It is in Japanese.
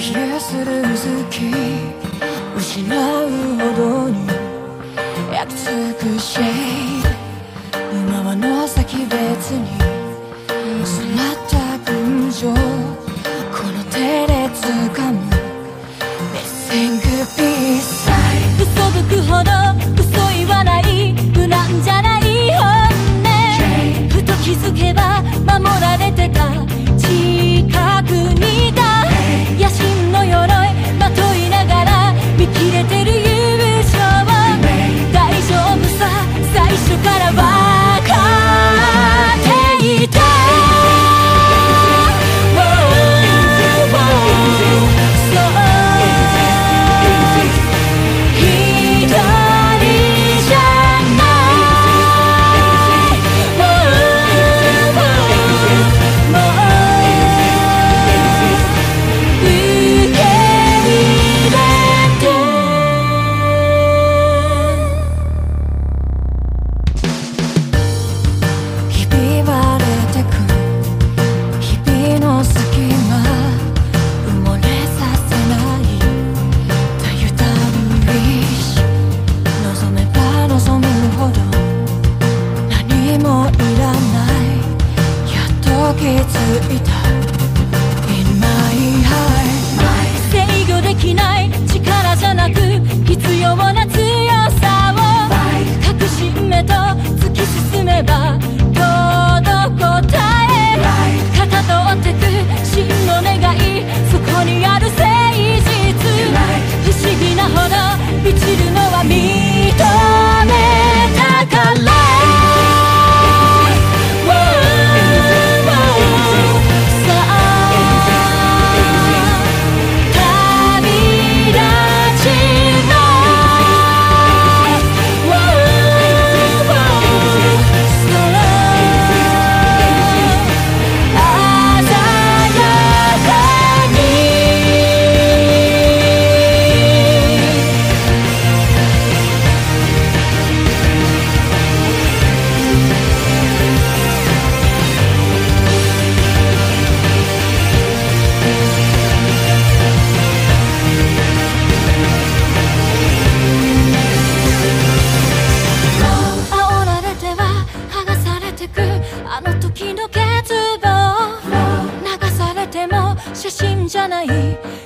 冷えする月失うほどに焼き付くシェイド今はの先別に収まった群青この手で掴むメッシングピース嘘吹くほど嘘言わない無難じゃない本音ふと気づけば守られてた近くにいた野心の鎧まといながら見切れてる友情大丈夫さ最初から分かっていた制御できない力じゃなく必要な強さを確信めと突き進めば届く答え片通ってく真の願いそこにある誠実不思議なほど満ちるのは認めたから写真じゃない